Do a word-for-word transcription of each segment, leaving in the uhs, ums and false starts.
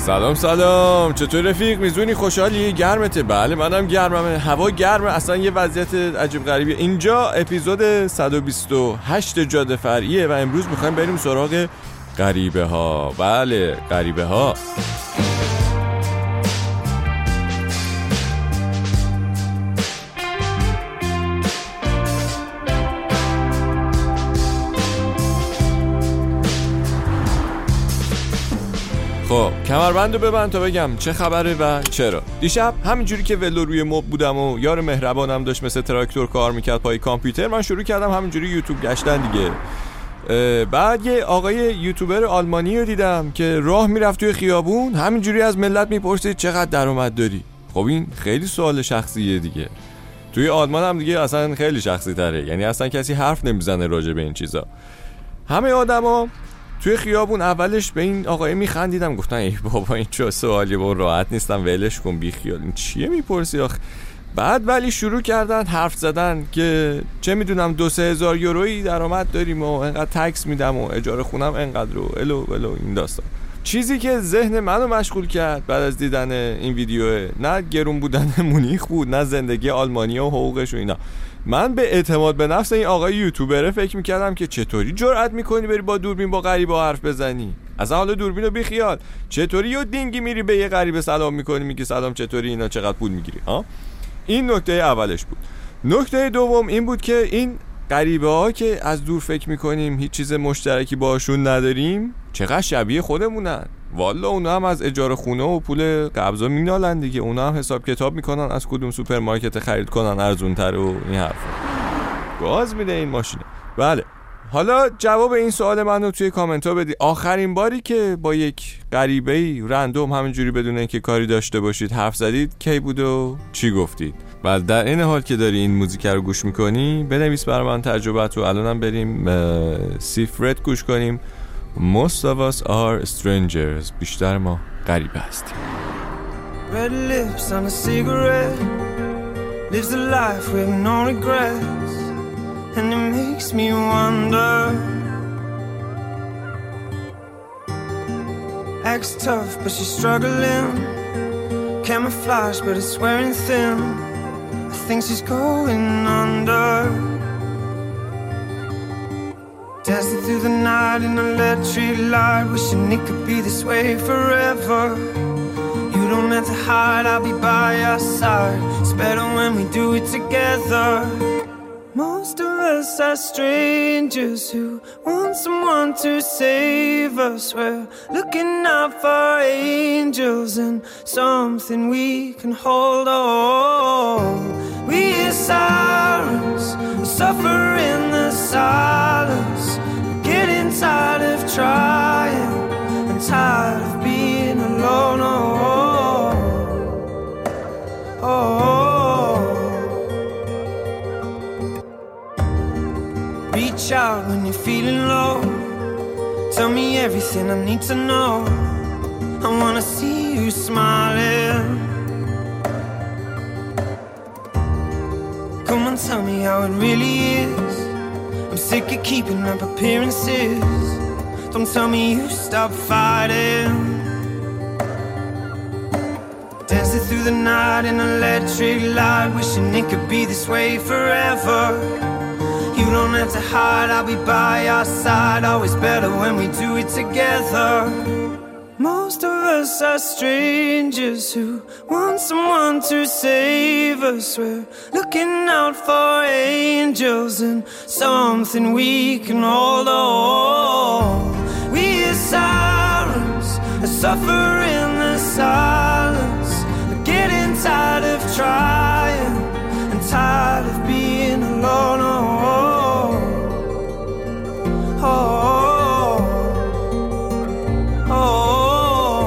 سلام سلام، چطور رفیق؟ میزونی؟ خوشحالی؟ گرمته؟ بله منم گرممه، هوا گرمه، اصلا یه وضعیت عجیب غریبیه. اینجا اپیزود صد و بیست و هشت جاده فرعیه و امروز میخوایم بریم سراغ غریبه ها. بله غریبه ها. خب کمربندو ببند تا بگم چه خبره و چرا. دیشب همینجوری که ولو روی مبل بودم و یار مهربانم داشت مثل تراکتور کار میکرد پای کامپیوتر، من شروع کردم همینجوری یوتیوب گشتن دیگه. بعد یه آقای یوتیوبر آلمانی رو دیدم که راه میرفت توی خیابون، همینجوری از ملت میپرسید چقدر درآمد داری. خب این خیلی سوال شخصیه دیگه. توی آلمان هم دیگه اصلا خیلی شخصی تره، یعنی اصلا کسی حرف نمیزنه راجع به این چیزا. همه آدما توی خیابون اولش به این آقای میخندیدم، گفتن ای بابا این چه سوالی، با راحت نیستم ولش کن بی خیال، این چیه میپرسی آخه. بعد ولی شروع کردن حرف زدن که چه میدونم دو سه هزار یورویی درآمد داریم و انقدر تکس میدم و اجاره خونم انقدر رو الو الو این داستان. چیزی که ذهن منو مشغول کرد بعد از دیدن این ویدیو نه گرون بودن مونیخ بود، نه زندگی آلمانیا و حقوقش و اینا. من به اعتماد به نفس این آقای یوتیوبره فکر میکردم که چطوری جرأت میکنی بری با دوربین با غریبه حرف بزنی. اصلا حالا دوربینو بی خیال، چطوری یه دینگی میری به یه غریبه سلام میکنی میگی سلام چطوری، اینا چقدر پول میگیری ها. این نکته اولش بود. نکته دوم این بود که این غریبه ها که از دور فکر میکنیم هیچ چیز مشترکی باشون نداریم چقدر شبیه خودمونن. والا اونا هم از اجاره خونه و پول قبضا مینالن دیگه، اونا هم حساب کتاب میکنن از کدوم سوپرمارکت خرید کنن ارزونتر و این حرفا. گاز میده این ماشینه. بله حالا جواب این سوال منو توی کامنت ها بدی. آخرین باری که با یک غریبه‌ای رندوم همینجوری بدون اینکه کاری داشته باشید حرف زدید کی بود و چی گفتید؟ بله در این حال که داری این موزیک رو گوش میکنی بنویس برای من تجربت و الانم بریم سیفرت گوش کنیم. Most of us are strangers. بیشتر ما غریبه هستیم. Red lips on a cigarette, lives a life with no regrets, and it makes me wonder. Acts tough but she's struggling, camouflage but it's wearing thin. I think she's going under. Dancing through the night in electric light, wishing it could be this way forever. You don't have to hide, I'll be by your side. It's better when we do it together. Most of us are strangers who want someone to save us. We're looking out for angels and something we can hold on. We hear sirens, suffer in the silence. We're getting tired of trying and tired of being alone. Oh, oh, oh. Reach out when you're feeling low. Tell me everything I need to know. I wanna see you smiling. Come on, tell me how it really is. I'm sick of keeping up appearances. Don't tell me you stop fighting. Dancing through the night in electric light, wishing it could be this way forever. You don't have to hide, I'll be by your side. Always better when we do it together. Most of us are strangers who want someone to save us. We're looking out for angels and something we can hold on. We hear sirens, suffer in the silence. We're getting tired of trying and tired of being alone. Oh, oh, oh, oh.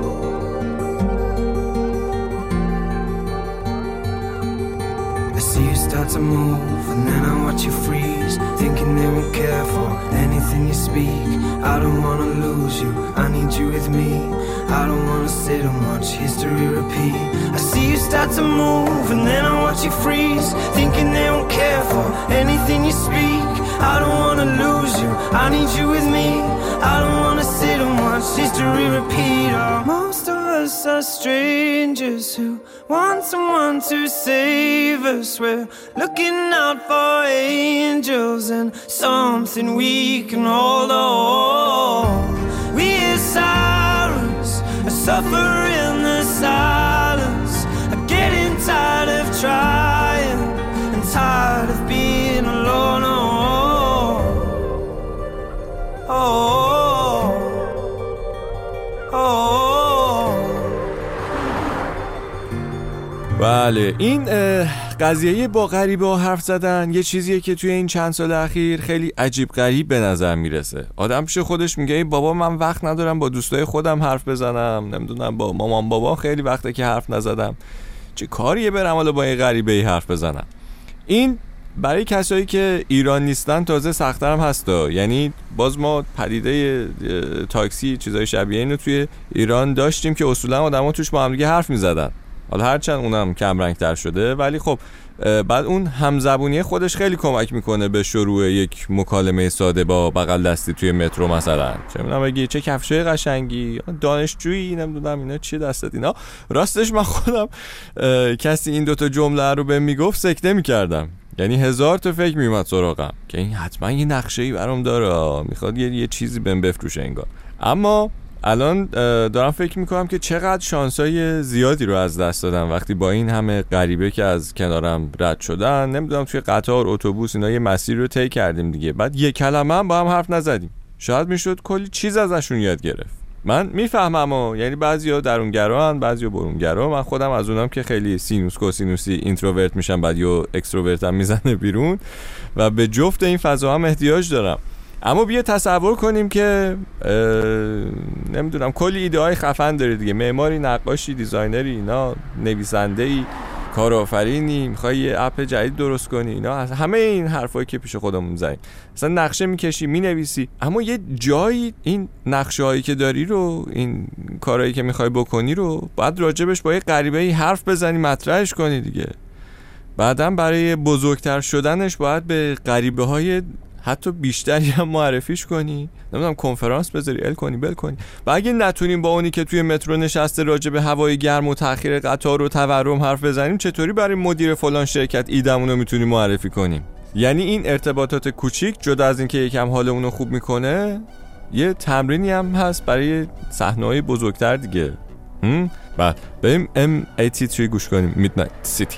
I see you start to move and then I watch you freeze, thinking they won't care for anything you speak. I don't wanna lose you, I need you with me. I don't wanna sit and watch history repeat. I see you start to move and then I watch you freeze, thinking they won't care for anything you speak. I don't wanna lose you, I need you with me. I don't wanna sit and watch history repeat. Oh, most of us are strangers who want someone to save us. We're looking out for angels and something we can hold on. We hear sirens, suffer in the silence. I'm getting tired of trying and tired of being alone. Oh, oh, oh. بله، این قضیه با غریبه ها حرف زدن یه چیزیه که توی این چند سال اخیر خیلی عجیب غریب به نظر میرسه. آدم پیش خودش میگه ای بابا من وقت ندارم با دوستای خودم حرف بزنم، نمیدونم با مامان بابا خیلی وقته که حرف نزدم، چه کاریه برم حالا با این غریبه ای حرف بزنم. این برای کسایی که ایران نیستن تازه سخت‌تر هم هستا. یعنی باز ما پدیده تاکسی چیزای شبیه اینو توی ایران داشتیم که اصولا آدما توش با هم دیگه حرف میزدن. حالا هرچند اونم کم رنگ‌تر شده، ولی خب بعد اون همزبونی خودش خیلی کمک میکنه به شروع یک مکالمه ساده با بغل دستی توی مترو مثلا. چه میدونم بگی چه کفشای قشنگی، دانشجویی، نمیدونم اینا چیه دستت اینا. راستش من خودم کسی این دوتا جمله رو بهم میگفت سکته میکردم. یعنی هزار تا فکر میومد سراغم که این حتما یه نقشه‌ای برام داره، میخواد یه, یه چیزی بهم بفروشه انگار. اما الان دارم فکر میکنم که چقدر شانسای زیادی رو از دست دادم وقتی با این همه غریبه که از کنارم رد شدن، نمیدونم توی قطار، اتوبوس، اینا یه مسیر رو طی کردیم دیگه، بعد یک کلمه هم با هم حرف نزدیم. شاید میشد کلی چیز ازشون یاد گرفت. من میفهمم ها، یعنی بعضیا درونگران، بعضیا برونگرا. من خودم از اونام که خیلی سینوس کوسینوسی اینتروورت میشم، بعد یا اکستروورتم میزنه بیرون و به جفت این فضا هم احتیاج دارم. اما بیا تصور کنیم که نمیدونم کلی ایده های خفن داری دیگه، معماری، نقاشی، دیزاینری، اینا، نویسنده‌ای، کارآفرینی، میخوای یه اپ جدید درست کنی، اینا همه این حرفایی که پیش خودمون میزنیم. مثلا نقشه میکشی، مینویسی، اما یه جایی این نقشه هایی که داری رو، این کارهایی که میخوای بکنی رو باید راجبش با یه غریبه‌ای حرف بزنی، مطرحش کنی دیگه. بعدم برای بزرگتر شدنش باید به غریبه های حتی بیشتری هم معرفیش کنی، نمیدونم کنفرانس بذاری، ال کنی، بل کنی. و اگه نتونیم با اونی که توی مترو نشسته راجع به هوای گرم و تأخیر قطار و تورم حرف بزنیم، چطوری برای مدیر فلان شرکت ایدمون رو میتونیم معرفی کنیم؟ یعنی این ارتباطات کوچیک جدا از این که یکم حال اونو خوب میکنه، یه تمرینی هم هست برای صحنه‌های بزرگتر دیگه. هم؟ بعد بریم ام هشتاد و سه گوش کنیم، میدنایت سیتی.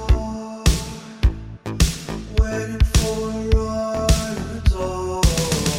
Waiting for a ride at the door.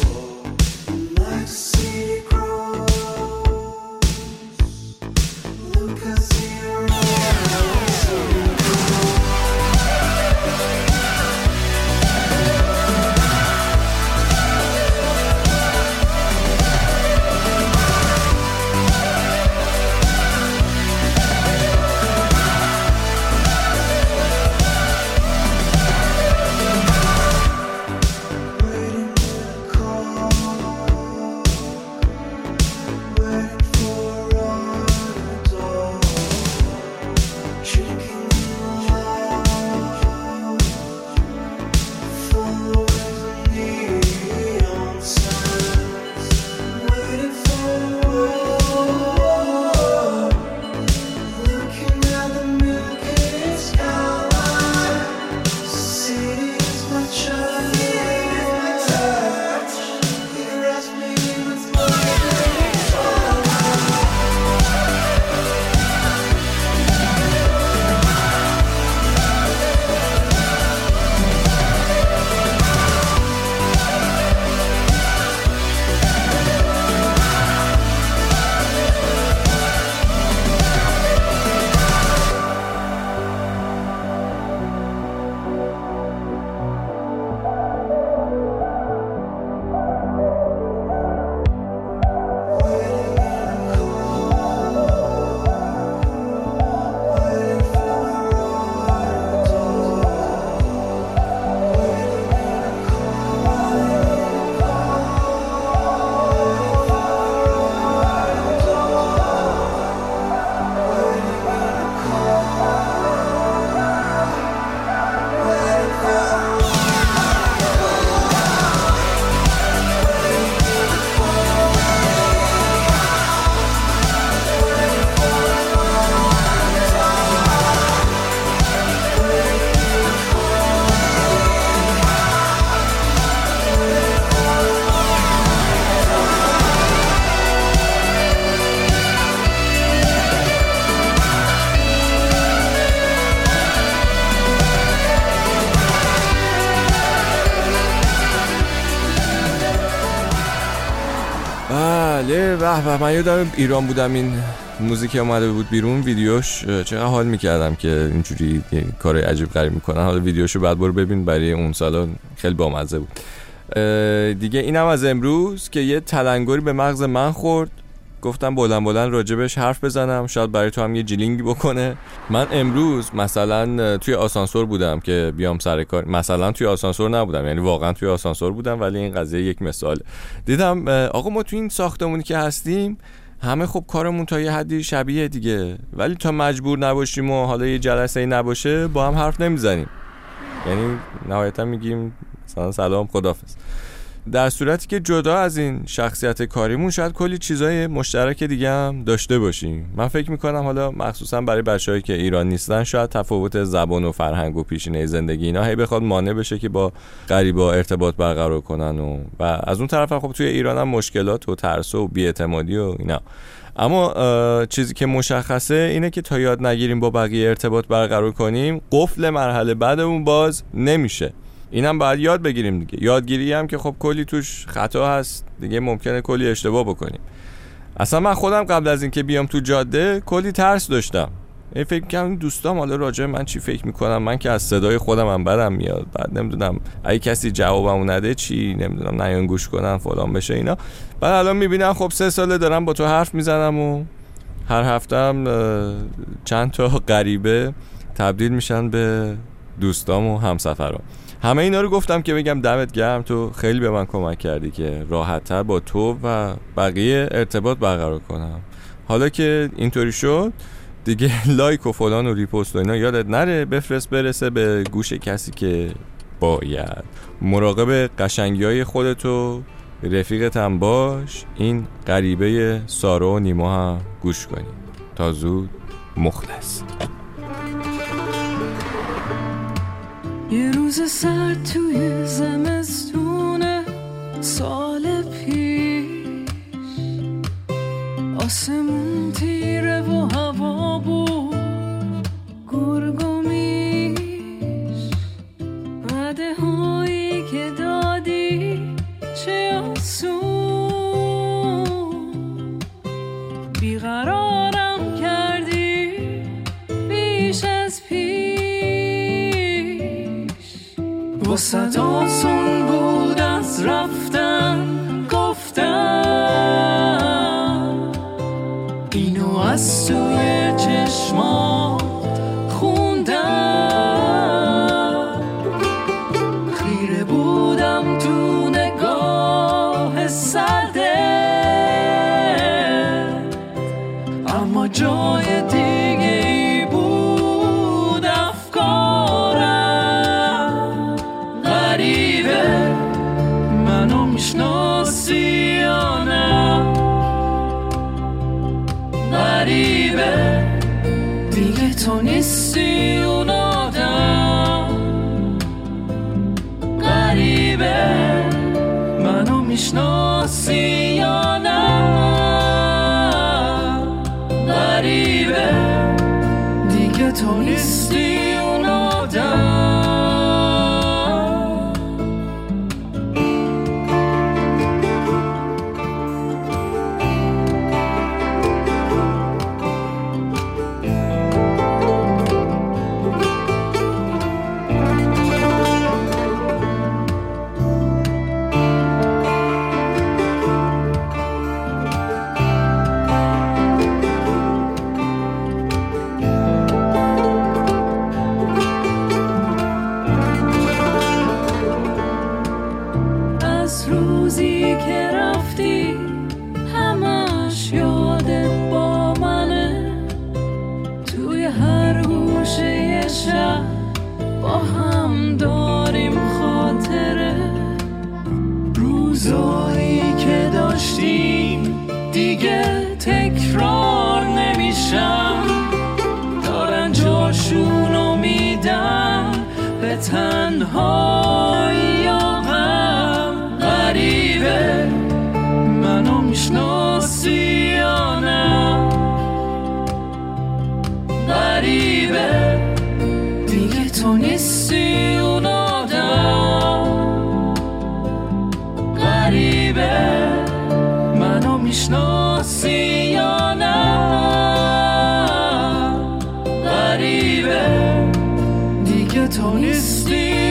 بله به به، من یادم ایران بودم این موزیک اومده بود بیرون، ویدیوش چقدر حال میکردم که اینجوری کار عجیب غریب میکنن. حالا ویدیوشو بعد برو ببین، برای اون سالا خیلی بامزه بود. دیگه اینم از امروز که یه تلنگری به مغز من خورد، گفتم بلند بلند راجبش حرف بزنم، شاید برای تو هم یه جیلینگی بکنه. من امروز مثلا توی آسانسور بودم که بیام سر کار، مثلا توی آسانسور نبودم، یعنی واقعا توی آسانسور بودم، ولی این قضیه یک مثال. دیدم آقا ما توی این ساختمونی که هستیم همه خب کارمون تا یه حدی شبیه دیگه، ولی تا مجبور نباشیم و حالا یه جلسه نباشه با هم حرف نمیزنیم، یعنی نهایتا میگیم مثلا سلام خداحافظ. در صورتی که جدا از این شخصیت کاریمون شاید کلی چیزای مشترک دیگه هم داشته باشیم. من فکر میکنم حالا مخصوصا برای بچه‌هایی که ایران نیستن شاید تفاوت زبان و فرهنگ و پیشینه زندگی اینا هی بخواد مانع بشه که با غریبا ارتباط برقرار کنن و و از اون طرف هم خب توی ایران هم مشکلات و ترس و بی‌اعتمادی و اینا. اما چیزی که مشخصه اینه که تا یاد نگیریم با بقیه ارتباط برقرار کنیم، قفل مرحله بعدمون باز نمیشه. اینم باید یاد بگیریم دیگه. یادگیری هم که خب کلی توش خطا هست دیگه، ممکنه کلی اشتباه بکنیم. اصلا من خودم قبل از اینکه بیام تو جاده کلی ترس داشتم. این فکر می‌کردم دوستام حالا راجع من چی فکر میکنم، من که از صدای خودم هم بدم میاد، بعد نمیدونم اگه کسی جوابمو نده چی، نمیدونم نیان گوش کنن فلان بشه اینا. بعد الان میبینم خب سه ساله دارم با تو حرف میزنم و هر هفتم چند تا غریبه تبدیل میشن به دوستام و همسفرام. همه اینا رو گفتم که بگم دمت گرم، تو خیلی به من کمک کردی که راحت‌تر با تو و بقیه ارتباط برقرار کنم. حالا که اینطوری شد دیگه لایک و فلان و ریپوست و اینا یادت نره، بفرست برسه به گوش کسی که باید. مراقب قشنگی‌های خودتو، رفیقت هم باش. این غریبه سارا و نیما هم گوش کنی. تا زود، مخلص. یه روز سرد توی زمستون سال پیش، آسمون تیره و هوا بود گرگ و میش، وعده هایی که دادی چه آسون، بیقرارم کردی بیش از پیش. واسه آسون بود از رفتن گفتم، اینو از توی چشمات خوندم، خیره بودم تو نگاه سرده، اما جای دیگه ای بود افکارم. غریبه منو میشناسی یا نه، غریبه دیگه تو نیستی اون آدم، غریبه منو میشناسی یا نه، غریبه دیگه تو نیستی اون آدم. روزی که رفتی همش یادت با منه، توی هر گوشه شب با هم داریم خاطره، روزایی که داشتیم دیگه تکرار نمیشن، دارن جاشونو میدن به تنهایی. غریبه منو میشناسی یا نه، غریبه دیگه تو نیستی اون آدم، غریبه منو میشناسی یا نه. غریبه دیگه تو نیستی